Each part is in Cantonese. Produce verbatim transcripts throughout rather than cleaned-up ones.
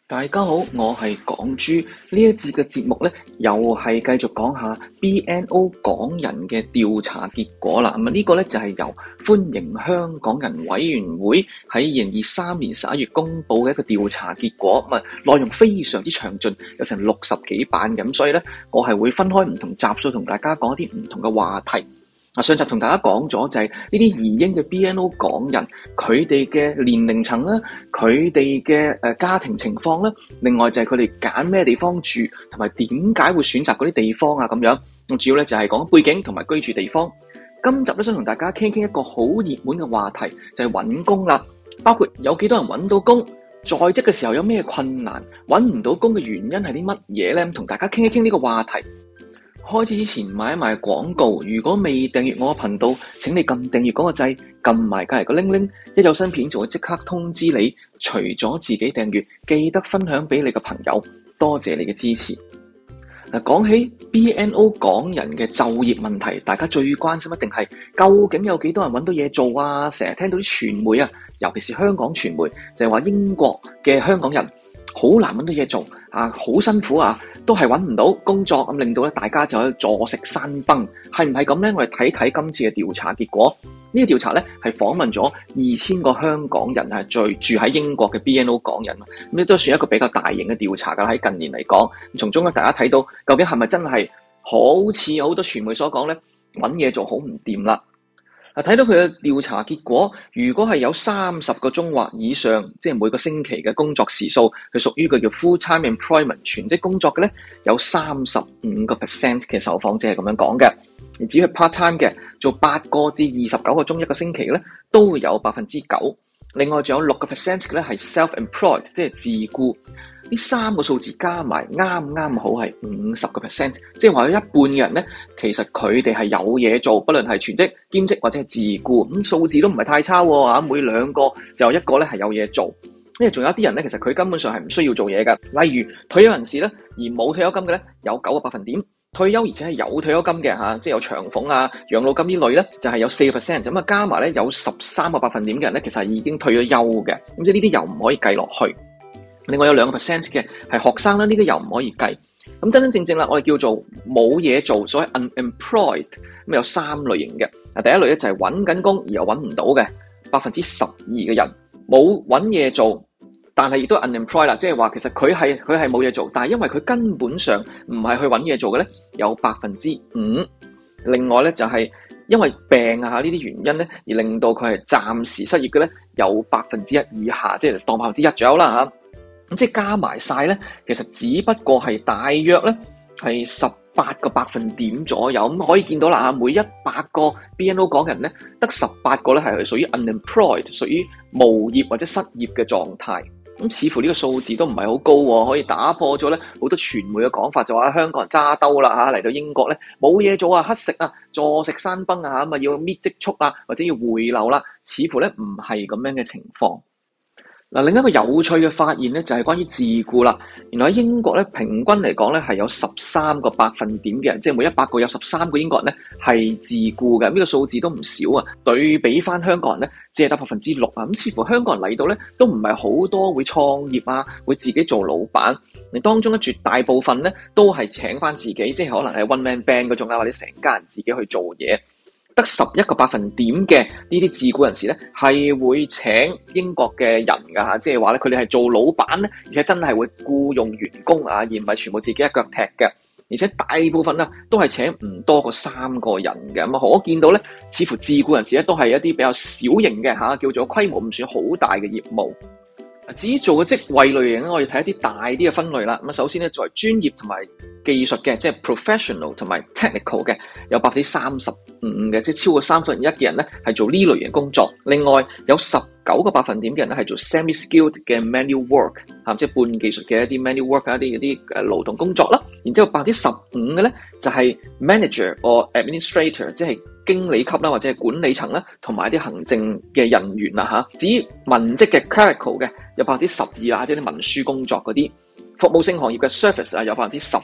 大家好，我係港豬。呢一節嘅節目咧，又係繼續講下 B N O 港人嘅調查結果啦。咁啊，呢個咧就係由歡迎香港人委員會喺二零二三年十一月公布嘅一個調查結果。咁啊，內容非常之詳盡，有成六十幾版咁，所以咧，我係會分開唔同集數同大家講一啲唔同嘅話題。上集同大家講咗就係呢啲移英嘅 B N O 港人，佢哋嘅年齡層啦，佢哋嘅誒家庭情況啦，另外就係佢哋揀咩地方住，同埋點解會選擇嗰啲地方啊咁樣。咁主要咧就係講背景同埋居住地方。今集咧想同大家傾傾一個好熱門嘅話題，就係揾工啦，包括有幾多人揾到工，在職嘅時候有咩困難，揾唔到工嘅原因係啲乜嘢咧？同大家傾一傾呢個話題。開始之前買一買廣告，如果未訂閱我嘅頻道，請你撳訂閱嗰個掣，撳埋隔籬個鈴鈴，一有新片就會即刻通知你。除咗自己訂閱，記得分享俾你嘅朋友，多謝你嘅支持。嗱，講起 B N O 港人嘅就業問題，大家最關心一定係究竟有幾多人揾到嘢做啊？成日聽到啲傳媒啊，尤其是香港傳媒，就係話英國嘅香港人好難揾到嘢做啊，好辛苦啊，都係揾唔到工作，咁令到咧大家就喺度坐食山崩，係唔係咁咧？我哋睇睇今次嘅調查結果。呢、這個調查咧係訪問咗二千個香港人係住喺英國嘅 B N O 港人，咁亦都算一個比較大型嘅調查噶啦。喺近年嚟講，從中咧大家睇到究竟係咪真係好似好多傳媒所講咧，揾嘢做好唔掂啦。睇到佢嘅調查結果，如果係有三十個鐘或以上，即係每個星期嘅工作時數，佢屬於佢叫 full-time employment 全職工作嘅咧，有三十五個 percent 嘅受訪者係咁樣講嘅。而至於 part-time 嘅，做八個至二十九個鐘一個星期嘅咧，都會有百分之九。另外仲有六個 percent 嘅咧係 self-employed， 即係自僱。呢三個數字加埋啱啱好係五十個 percent， 即係話有一半嘅人咧，其實佢哋係有嘢做，不論係全職、兼職或者係自僱，咁數字都唔係太差喎嚇。每兩個就有一個咧係有嘢做，因為仲有啲人咧，其實佢根本上係唔需要做嘢㗎。例如退休人士咧，而冇退休金嘅咧，有九個百分點；退休而且係有退休金嘅嚇，即係有長俸啊、養老金呢類咧，就係有四個 percent。咁啊加埋咧有十三個百分點嘅人咧，其實係已經退咗休嘅。咁即係呢啲又唔可以計落去。另外有兩個 percent 嘅係學生啦，呢啲又唔可以計。咁真真正正啦，我哋叫做冇嘢做，所謂 unemployed，咁有三類型嘅。嗱，第一類咧就係揾緊工而又揾唔到嘅，百分之十二嘅人冇揾嘢做，但係亦都 unemployed 啦，即係話其實佢係佢係冇嘢做，但係因為佢根本上唔係去揾嘢做嘅咧，有百分之五。另外咧就係因為病啊呢啲原因咧，而令到佢係暫時失業嘅咧，有百分之一以下，即係當百分之一左右啦嚇。咁即係加埋晒咧，其實只不過係大約咧係十八個百分點左右。咁可以見到啦，每一百個 B N O 港人咧，得十八個咧係屬於 unemployed， 屬於無業或者失業嘅狀態。咁似乎呢個數字都唔係好高喎，可以打破咗咧好多傳媒嘅講法，就話香港人揸兜啦嚇，嚟到英國咧冇嘢做啊，乞食啊，坐食山崩啊，咁啊要搣積蓄啊，或者要回流啦，似乎咧唔係咁樣嘅情況。嗱，另一個有趣嘅發現咧，就係關於自僱啦。原來喺英國咧，平均嚟講咧，係有十三個百分點嘅人，即係每一百個有十三個英國人咧係自僱嘅。呢個數字都唔少啊。對比翻香港人咧，只係得百分之六啊。咁似乎香港人嚟到咧，都唔係好多會創業啊，會自己做老闆。你當中咧，絕大部分咧都係請翻自己，即係可能係 one man band 嗰種啊，或者成家人自己去做嘢。得十一個百分點嘅呢啲自僱人士咧，係會請英國嘅人㗎嚇，即係話咧佢哋係做老闆咧，而且真係會僱用員工啊，而唔係全部自己一腳踢嘅。而且大部分啊都係請唔多過三個人嘅。咁啊可見到咧，似乎自僱人士咧都係一啲比較小型嘅嚇，叫做規模唔算好大嘅業務。至於做嘅職位類型咧，我哋睇一啲大啲嘅分類啦。咁啊，首先咧作為專業同埋技術嘅，即係 professional 同埋 technical 嘅，有百分之三十五嘅，即係超過三分一嘅人咧係做呢類型工作。另外有十九個百分點嘅人咧係做 semi-skilled 嘅 manual work，嚇，即係半技術嘅一啲 manual work 一啲嗰啲誒勞動工作啦。然之後百分之十五嘅咧就係 manager or administrator，即係經理級啦，或者係管理層啦，同埋一啲行政嘅人員啦嚇。至於文職嘅 clerical 嘅，有百分之十二啊，即係啲文書工作嗰啲。服務性行業嘅 service 啊，有百分之十嘅。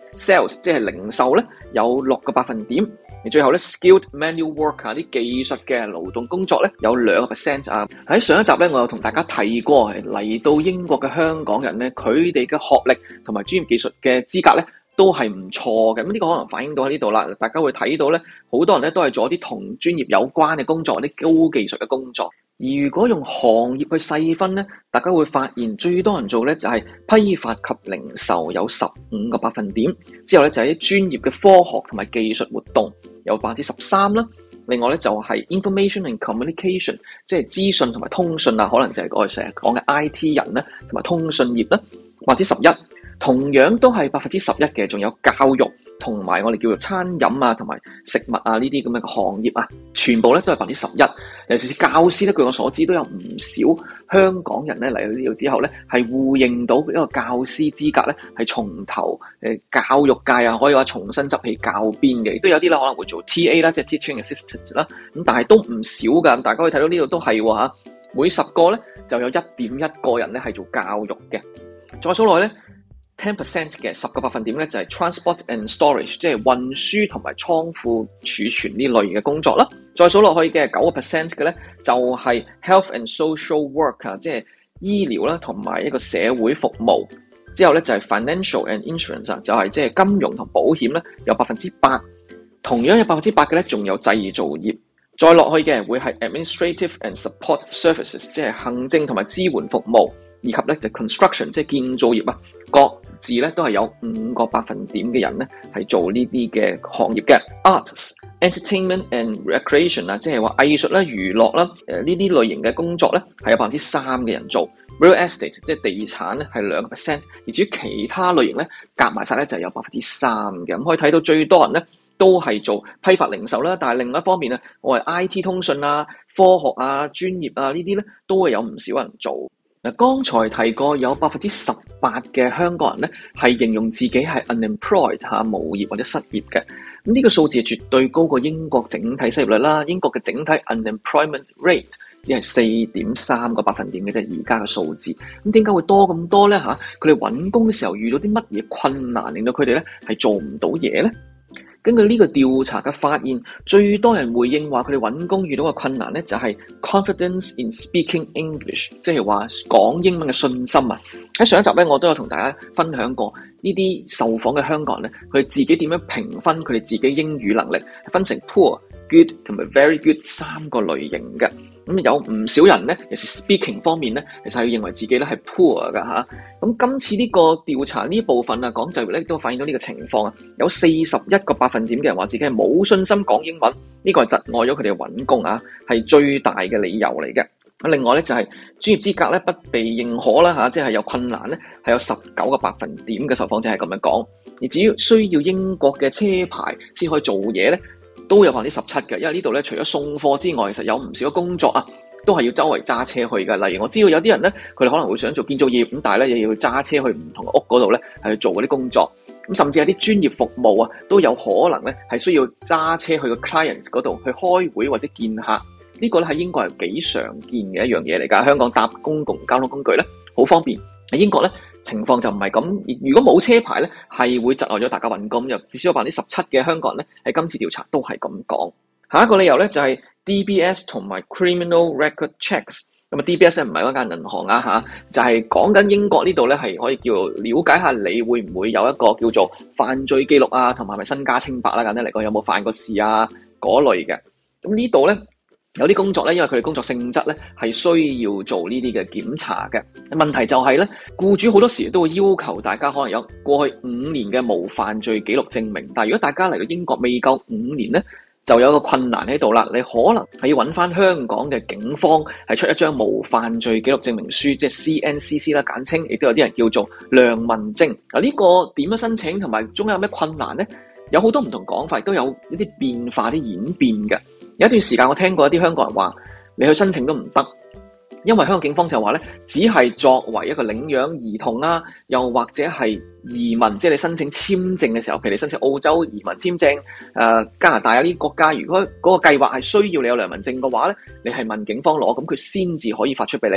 ，sales 即係零售咧有六個百分點。而最後咧 skilled manual work 啊，啲技術嘅勞動工作咧有兩個 percent 啊。喺上一集咧，我有同大家提過，嚟到英國嘅香港人咧，佢哋嘅學歷同埋專業技術嘅資格咧都係唔錯嘅。咁呢個可能反映到喺呢度啦，大家會睇到咧，好多人咧都係做一啲同專業有關嘅工作，啲高技術嘅工作。而如果用行業去細分咧，大家會發現最多人做咧就係批發及零售有十五個百分點，之後咧就係啲專業嘅科學同埋技術活動有百分之十三啦。另外咧就係 information and communication， 即係資訊同埋通訊啊，可能就係我哋成日講嘅 I T 人啦，同埋通訊業啦，百分之十一。同樣都係百分之十一嘅，仲有教育同埋我哋叫做餐飲啊，同埋食物啊呢啲咁嘅行業啊，全部咧都係百分之十一。尤其是教師咧，據我所知都有唔少香港人咧嚟到呢度之後咧，係互認到一個教師資格咧，係從頭誒教育界啊，可以話重新執起教鞭嘅。亦都有啲咧可能會做 T A 啦，即係 teaching assistant 啦，咁但係都唔少噶。大家可以睇到呢度都係喎嚇，每十個咧就有一點一個人咧係做教育嘅。再數落咧。ten percent 嘅十個百分點咧就係 transport and storage， 即係運輸同埋倉庫儲存呢類嘅工作啦。再數落去嘅九個 percent 嘅咧就係 health and social work 啊，即係醫療啦同埋一個社會服務。之後咧就係 financial and insurance 啊，就係即係金融同保險咧有百分之八。同樣有百分之八嘅咧仲有製造業。再落去嘅會係 administrative and support services， 即係行政同埋支援服務，以及咧就 construction， 即係建造業啊。各自咧都係有五個百分點嘅人咧係做呢啲嘅行業嘅。Arts, entertainment and recreation 啊，即係話藝術啦、娛樂啦，誒呢啲類型嘅工作咧係有百分之三嘅人做。Real estate 即係地產咧係兩個 percent， 而至於其他類型咧夾埋晒咧就係有百分之三嘅。咁可以睇到最多人咧都係做批發零售啦，但係另一方面咧，我係 I T 通訊啊、科學啊、專業啊呢啲咧都會有唔少人做。嗱，剛才提過有百分之十八嘅香港人咧係形容自己係 unemployed 嚇，無業或者失業嘅。咁呢個數字係絕對高過英國整體失業率啦。英國嘅整體 unemployment rate 只係四點三個百分點嘅啫，而家嘅數字。咁點解會多咁多咧嚇？佢哋揾工嘅時候遇到啲乜嘢困難，令到佢哋咧係做唔到嘢咧？根據呢個調查嘅發現，最多人回應話佢哋揾工遇到嘅困難咧，就係 confidence in speaking English， 即係話講英文嘅信心啊。喺上一集咧，我都有同大家分享過呢啲受訪嘅香港人咧，佢哋自己點樣評分佢哋自己英語能力，分成 poor、good 同埋 very good 三個類型嘅。咁有唔少人咧，尤其是 speaking 方面咧，其實係認為自己咧係 poor 噶嚇。咁今次呢個調查呢部分啊，講就業咧都反映到呢個情況啊。有四十一個百分點嘅人話自己係冇信心講英文，呢個係窒礙咗佢哋揾工啊，係最大嘅理由嚟嘅。另外咧就係專業資格咧不被認可啦嚇，即係有困難咧，係有十九個百分點嘅受訪者係咁樣講。而至於需要英國嘅車牌先可以做嘢咧，都有百分之十七嘅，因為呢度咧除咗送貨之外，其實有唔少嘅工作啊，都係要周圍揸車去嘅。例如我知道有啲人咧，佢哋可能會想做建造業，咁但係咧又要揸車去唔同嘅屋嗰度咧，係去做嗰啲工作。咁甚至有啲專業服務啊，都有可能咧係需要揸車去個 clients 嗰度去開會或者見客。呢個咧喺英國係幾常見嘅一樣嘢嚟㗎。香港搭公共交通工具咧好方便，喺英國咧情況就唔係咁。如果冇車牌咧，係會窒礙咗大家揾工。又至少有百分之十七嘅香港人咧喺今次調查都係咁講。下一個理由咧就係 D B S 同埋 Criminal Record Checks。咁啊 D B S 咧唔係嗰間銀行啊嚇，就係講緊英國呢度咧係可以叫了解下你會唔會有一個叫做犯罪記錄啊，同埋係咪身家清白啦？簡單嚟講，有冇犯過事啊嗰類嘅。咁呢度咧有啲工作咧，因為佢哋工作性質咧係需要做呢啲嘅檢查嘅。問題就係咧，僱主好多時都會要求大家可能有過去五年嘅無犯罪記錄證明。但係如果大家嚟到英國未夠五年咧，就有一個困難喺度啦。你可能係要揾翻香港嘅警方係出一張無犯罪記錄證明書，即係 C N C C 啦，簡稱，亦都有啲人叫做良民證。啊，呢個點樣申請同埋中間有咩困難咧？有好多唔同講法，都有一啲變化、啲演變嘅。有一段時間我聽過一啲香港人話，你去申請都唔得，因為香港警方就話咧，只係作為一個領養兒童啊，又或者係移民，即係你申請簽證嘅時候，譬如你申請澳洲移民簽證、誒、呃、加拿大啊呢啲國家，如果嗰個計劃係需要你有良民證嘅話咧，你係問警方攞，咁佢先至可以發出俾你。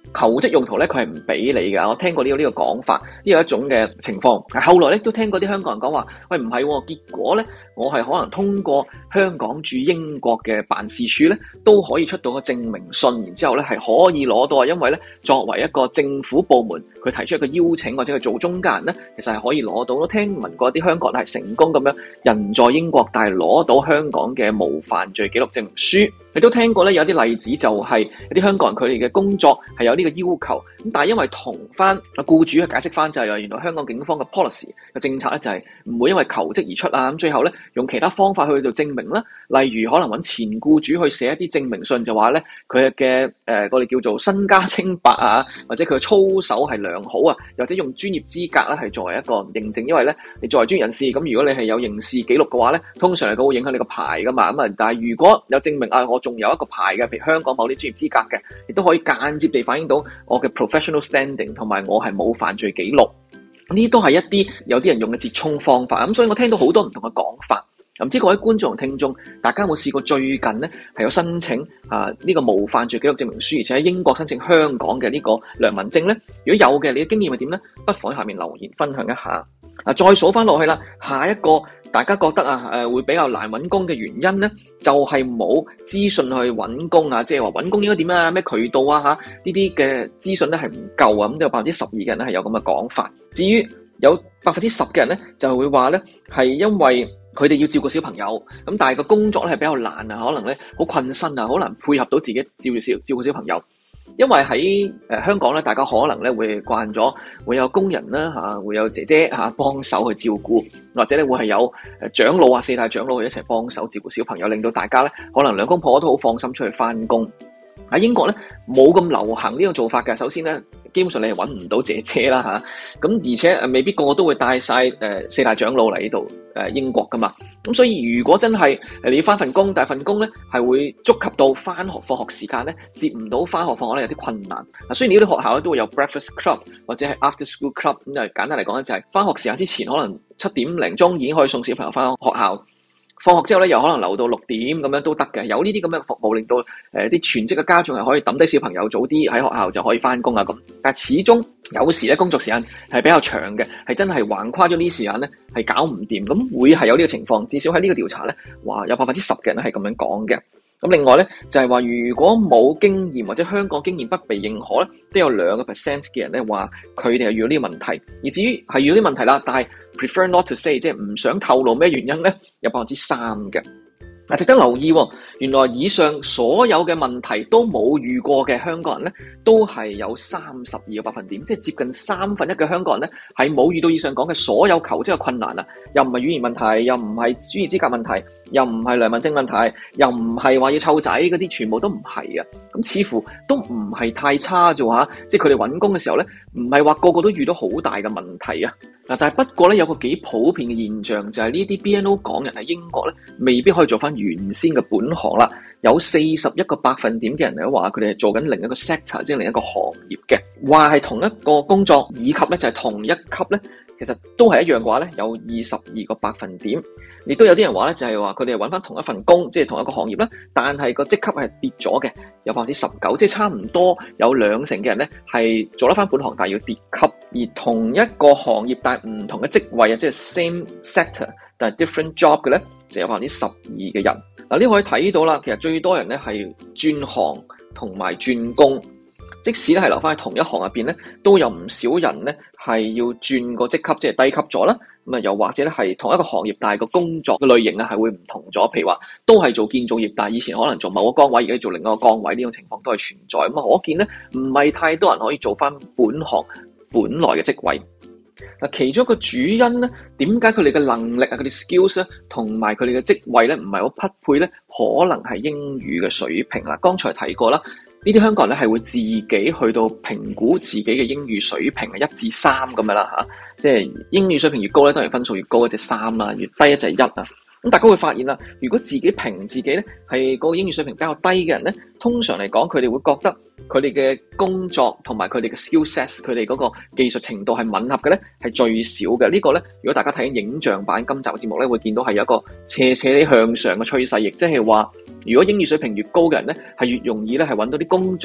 求職用途咧，佢係唔俾你㗎。我聽過呢個呢個講法，呢個一種嘅情況。後來咧都聽過啲香港人講話，喂唔係喎，結果咧我係可能通過香港駐英國嘅辦事處咧，都可以出到個證明信，然之後咧係可以攞到啊。因為咧作為一個政府部門，佢提出一個邀請或者佢做中間人咧，其實係可以攞到。都聽聞過啲香港人係成功咁樣人在英國，但係攞到香港嘅無犯罪記錄證明書。亦都聽過咧有啲例子，就係有啲香港人佢哋嘅工作係有呢個要求，咁但係因為同翻啊僱主去解釋翻，就係原來香港警方嘅 policy 嘅政策咧就係唔會因為求職而出啊，咁最後咧用其他方法去做證明啦，例如可能揾前僱主去寫一啲證明信，就話咧佢嘅誒我哋叫做身家清白啊，或者佢嘅操守係良好啊，或者用專業資格咧係作為一個認證，因為咧你作為專業人士，咁如果你係有刑事記錄嘅話咧，通常嚟講會影響你個牌噶嘛，咁啊但係如果有證明啊我仲有一個牌嘅，譬如香港某啲專業資格嘅，亦都可以間接地反映到我嘅 professional standing 同埋我係冇犯罪記錄。呢都係一啲有啲人用嘅折衷方法。咁所以我聽到好多唔同嘅講法。唔知各位觀眾同聽眾，大家有冇試過最近咧係有申請啊呢個無犯罪記錄證明書，而且喺英國申請香港嘅呢個良民證咧？如果有嘅，你嘅經驗係點咧？不妨喺下面留言分享一下。啊，再數翻落去啦，下一個大家覺得啊誒會比較難揾工嘅原因咧，就係冇資訊去揾工啊，即係話揾工應該點啊，咩渠道啊嚇呢啲嘅資訊咧係唔夠啊，咁都有百分之十二嘅人咧係有咁嘅講法。至於有百分之十嘅人咧就會話咧係因為佢哋要照顧小朋友，咁但係個工作咧係比較難啊，可能咧好困身啊，好難配合到自己照顧小照顧小朋友。因為喺誒香港咧，大家可能咧會慣咗會有工人啦嚇，會有姐姐嚇幫手去照顧，或者咧會係有誒長老啊四大長老去一齊幫手照顧小朋友，令到大家咧可能兩公婆都好放心出去翻工。喺英國咧冇咁流行呢個做法嘅。首先咧，基本上你係揾唔到姐姐啦嚇，咁而且誒未必個個都會帶晒誒四大長老嚟呢度誒英國噶嘛。咁所以如果真係誒你要翻份工，但係份工咧係會觸及到翻學放學時間咧，接唔到翻學放學咧有啲困難。嗱，雖然呢啲學校咧都會有 breakfast club 或者係 after school club，咁就簡單嚟講咧就係翻學時間之前可能七點零鐘已經可以送小朋友翻學校。放學之後咧，又可能留到六點咁樣都得嘅，有呢啲咁嘅服務，令到誒啲、呃、全職嘅家長係可以抌低小朋友早啲喺學校就可以翻工啊咁。但係始終有時咧工作時間係比較長嘅，係真係橫跨咗呢啲時間咧係搞唔掂，咁會係有呢個情況。至少喺呢個調查咧，話有百分之十嘅人係咁樣講嘅。咁另外咧就係話，如果冇經驗或者香港經驗不被認可咧，都有兩個 percent 嘅人咧話佢哋係遇到呢個問題。而至於係遇到啲問題啦，但係 prefer not to say， 即係唔想透露咩原因咧，有百分之三嘅。嗱，值得留意喎，原來以上所有嘅問題都冇遇過嘅香港人咧，都係有三十二個百分點，即係接近三分一嘅香港人咧係冇遇到以上講嘅所有求職嘅困難啊，又唔係語言問題，又唔係專業資格問題，又唔係良民證問題，又唔係話要湊仔嗰啲，全部都唔係啊！咁似乎都唔係太差啫嚇，即係佢哋揾工嘅時候咧，唔係話個個都遇到好大嘅問題啊！嗱，但係不過咧，有個幾普遍嘅現象就係呢啲 B N O 港人喺英國咧，未必可以做翻原先嘅本行啦。有四十一個百分點嘅人嚟話佢哋係做緊另一個 sector， 即係另一個行業嘅，話係同一個工作，以及咧就係同一級咧，其實都係一樣嘅話咧，有二十二個百分點。亦都有啲人話咧，就係話佢哋係揾翻同一份工，即係同一個行業啦，但係個職級係跌咗嘅，有百分之十九，即係差唔多有兩成嘅人咧係做得翻本行，但係要跌級。而同一個行業但係唔同嘅職位啊，即係 same sector 但係 different job 嘅咧，就有百分之十二嘅人。嗱，呢個可以睇到啦，其實最多人咧係轉行同埋轉工。即使咧係留翻喺同一行入邊咧，都有唔少人咧係要轉個職級，即係低級咗啦。咁啊，又或者咧係同一個行業，但係個工作嘅類型啊係會唔同咗。譬如話都係做建造業，但係以前可能做某個崗位，而家做另一個崗位，呢種情況都係存在。咁啊，可見咧唔係太多人可以做翻本行本來嘅職位。嗱，其中一個主因咧，點解佢哋嘅能力啊、佢哋 skills 咧，同埋佢哋嘅職位咧唔係好匹配咧？可能係英語嘅水平啦。剛才提過啦。呢啲香港人咧係會自己去到評估自己嘅英語水平係一至三咁樣啦嚇，即係英語水平越高咧，當然分數越高，一隻三啦，越低一隻一啊。咁大家會發現啦，如果自己評自己咧係個英語水平比較低嘅人咧，通常嚟講佢哋會覺得佢哋嘅工作同埋佢哋嘅 skill set， 佢哋嗰個技術程度係吻合嘅咧，係最少嘅。這個、呢個咧，如果大家睇緊影像版今集嘅節目咧，會見到係有一個斜斜地向上嘅趨勢，亦即係話，如果英語水平越高嘅人咧，係越容易咧係揾到啲工作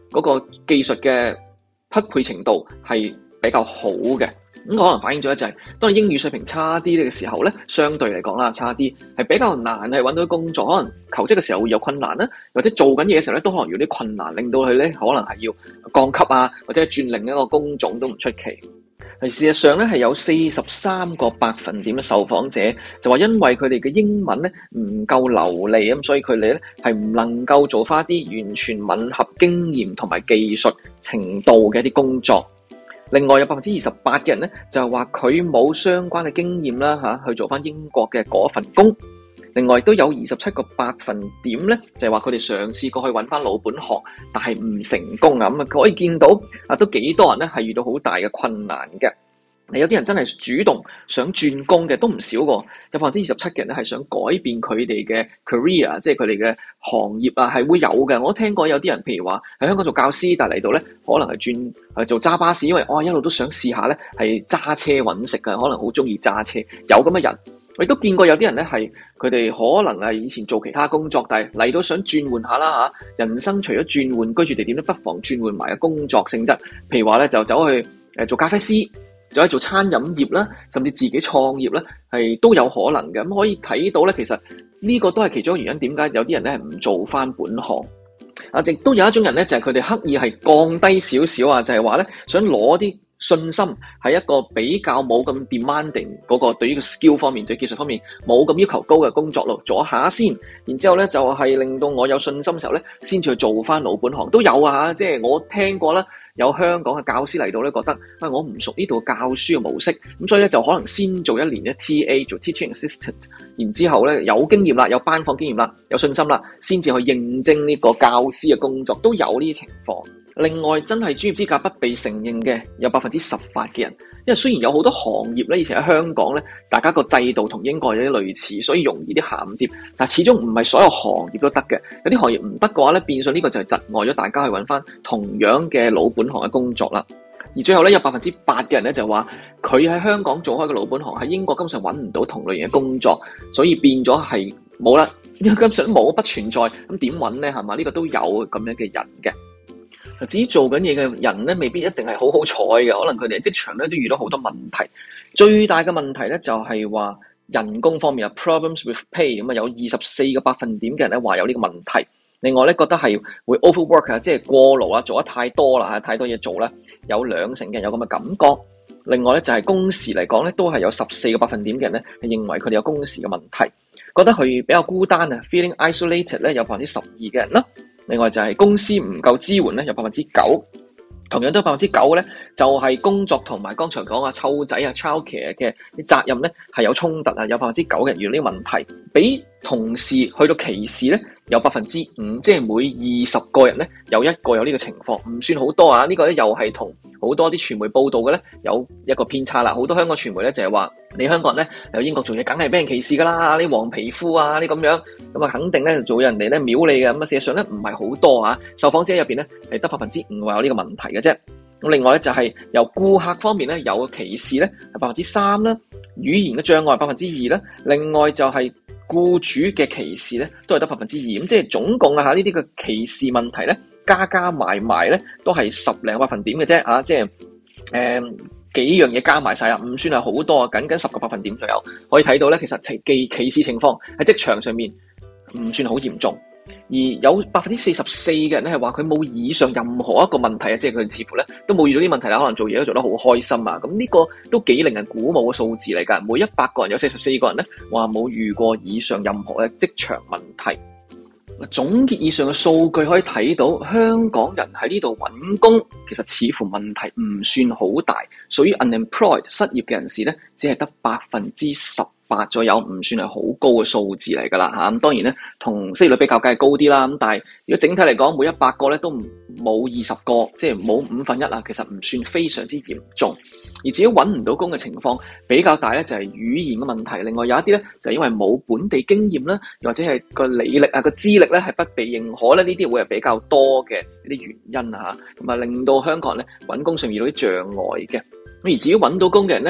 嗰個技術嘅匹配程度係比較好嘅。咁可能反映咗咧就係，當你英語水平差啲嘅時候咧，相對嚟講啦，差啲係比較難係揾到工作，可能求職嘅時候會有困難啦，或者做緊嘢嘅時候咧都可能有啲困難，令到佢咧可能係要降級啊，或者轉另一個工種都唔出奇。係事實上咧係有四十三個百分點嘅受訪者就話，因為佢哋嘅英文咧唔夠流利咁，所以佢哋咧係唔能夠做翻一啲完全吻合經驗同埋技術程度嘅一啲工作。另外有百分之二十八嘅人咧，就係話佢冇相關嘅經驗啦嚇，去做翻英國嘅嗰份工。另外都有二十七個百分點咧，就係話佢哋嘗試過去揾翻老本行，但係唔成功啊！咁啊，可以見到啊，都幾多人咧係遇到好大嘅困難嘅。有啲人真係主動想轉工嘅都唔少喎，有百分之二十七嘅人咧係想改變佢哋嘅 career， 即係佢哋嘅行業啊，係會有嘅。我聽過有啲人，譬如話喺香港做教師，但係嚟到咧可能係轉係做揸巴士，因為我、哦、一路都想試下咧係揸車揾食嘅，可能好中意揸車，有咁嘅人。我亦都見過有啲人咧係佢哋可能係以前做其他工作，但係嚟到想轉換下啦嚇。人生除咗轉換居住地點，都不妨轉換埋嘅工作性質。譬如話咧就走去誒做咖啡師。就係做餐飲業啦，甚至自己創業咧，係都有可能嘅。咁可以睇到咧，其實呢個都係其中一個原因，點解有啲人咧係唔做翻本行啊？亦都有一種人咧，就係佢哋刻意係降低少少啊，就係話咧想攞啲信心，係一個比較冇咁 demanding 嗰個對於個 skill 方面、對技術方面冇咁要求高嘅工作咯，做下先，然之後咧就係令到我有信心嘅時候咧，先至去做翻老本行都有啊。即係我聽過啦。有香港嘅教師嚟到咧，覺得啊，我唔熟呢度教書嘅模式，咁所以咧就可能先做一年嘅 T A 做 teaching assistant，然之後咧有經驗啦，有班房經驗啦，有信心啦，先至去應徵呢個教師嘅工作，都有呢啲情況。另外，真係專業資格不被承認嘅有百分之十八嘅人，因為雖然有好多行業咧，以前喺香港咧，大家個制度同英國有啲類似，所以容易啲銜接，但始終唔係所有行業都得嘅。有啲行業唔得嘅話咧，變相呢個就係窒礙咗大家去揾翻同樣嘅老本行嘅工作啦。而最後咧，有百分之八嘅人咧就話佢喺香港做開嘅老本行喺英國根本上揾唔到同類型嘅工作，所以變咗係冇啦，因為根本上冇不存在，咁點揾咧係嘛？呢、呢個都有咁樣嘅人嘅。至於做緊嘢嘅人咧，未必一定係好好彩嘅，可能佢哋喺職場咧都遇到好多問題。最大嘅問題咧就係話人工方面啊 ，problems with pay 咁啊，有二十四個百分點嘅人咧話有呢個問題。另外咧覺得係會 overwork 啊，即係過勞啊，做得太多啦，太多嘢做啦，有兩成嘅人有咁嘅感覺。另外咧就係工時嚟講咧，都係有十四個百分點嘅人咧係認為佢哋有工時嘅問題，覺得佢比較孤單啊 ，feeling isolated 咧有百分之十二嘅人啦。另外就係公司唔夠支援咧，有百分之九，同樣都有百分之九咧，就係工作同埋剛才講啊湊仔啊 childcare 嘅啲責任咧係有衝突啊，有百分之九嘅人遇到呢個問題，比同事去到歧視咧有百分之五，即係每二十個人咧有一個有呢個情況，唔算好多啊。呢個咧又係同好多啲傳媒報道嘅咧有一個偏差啦。好多香港傳媒咧就係話你香港人咧喺英國做嘢梗係俾人歧視噶啦，你黃皮膚啊，你咁樣咁啊，肯定咧做人哋咧秒你嘅。咁啊，事實上咧唔係好多啊，受訪者入邊咧係得百分之五話有呢個問題嘅啫。咁另外咧就係由顧客方面咧有歧視咧係百分之三啦，語言嘅障礙百分之二啦，另外就係僱主嘅歧視咧都係得百分之二，咁即係總共啊吓呢啲嘅歧視問題咧加加埋埋咧都係十零百分點嘅啫啊，即係誒、呃、幾樣嘢加埋晒啊，唔算係好多啊，僅僅十個百分點左右。可以睇到咧，其實歧歧視情況喺職場上面唔算好嚴重。而有百分之四十四嘅人咧係話佢冇以上任何一個問題啊，即係佢哋似乎咧都冇遇到啲問題啦，可能做嘢都做得好開心啊。咁呢個都幾令人鼓舞嘅數字嚟㗎。每一百個人有四十四個人咧話冇遇過以上任何嘅職場問題。總結以上嘅數據可以睇到，香港人喺呢度揾工其實似乎問題唔算好大，屬於 unemployed 失業嘅人士咧只係得百分之十八左右，唔算係好高嘅數字嚟㗎啦嚇。咁當然咧，同失業率比較梗係高啲啦。咁但係如果整體嚟講，每一百個咧都冇二十個，即係冇五分一啊，其實唔算非常之嚴重。而至於揾唔到工嘅情況比較大咧，就係語言嘅問題。另外有一啲咧就係因為冇本地經驗啦，又或者係個履歷啊、個資歷咧係不被認可咧，呢啲會係比較多嘅一啲原因啊嚇，咁啊令到香港人咧揾工上遇到啲障礙嘅。咁而至於揾到工嘅人咧，好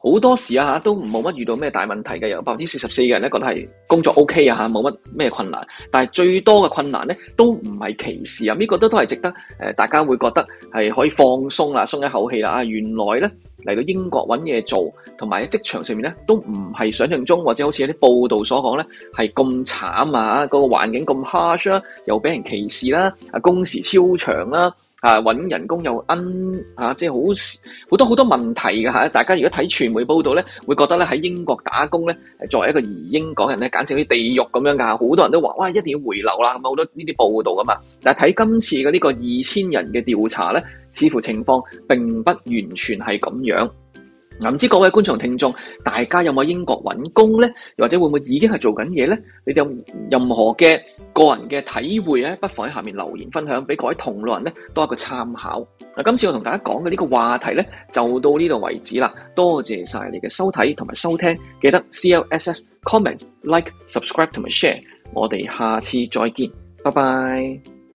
好多時啊都冇乜遇到咩大問題嘅，有百分之四十四嘅人咧覺得係工作 OK 啊嚇，冇乜咩困難。但係最多嘅困難咧都唔係歧視啊，呢、這個都都係值得誒、呃、大家會覺得係可以放鬆啦，鬆一口氣啦啊！原來咧嚟到英國揾嘢做，同埋喺職場上面咧都唔係想象中或者好似有啲報道所講咧係咁慘啊！嗰、那個環境咁 harsh 啦，又俾人歧視啦，啊工時超長啦。啊！揾人工又奀啊，即係好好多好多問題㗎嚇。大家如果睇傳媒報道咧，會覺得咧喺英國打工咧，作為一個移英港人咧，簡直好似地獄咁樣㗎。好多人都話：哇，一定要回流啦！咁好多呢啲報道㗎嘛。但係睇今次嘅呢個二千人嘅調查咧，似乎情況並不完全係咁樣。唔知各位觀眾聽眾，大家有冇喺英國揾工呢？又或者會唔會已經係做緊嘢呢？你哋有任何嘅個人嘅體會咧，不妨喺下面留言分享，俾各位同路人咧多一個參考。嗱，今次我同大家講嘅呢個話題咧，就到呢度為止啦。多謝晒你嘅收睇同埋收聽，記得 C L S S comment like subscribe 同埋 share。我哋下次再見，拜拜。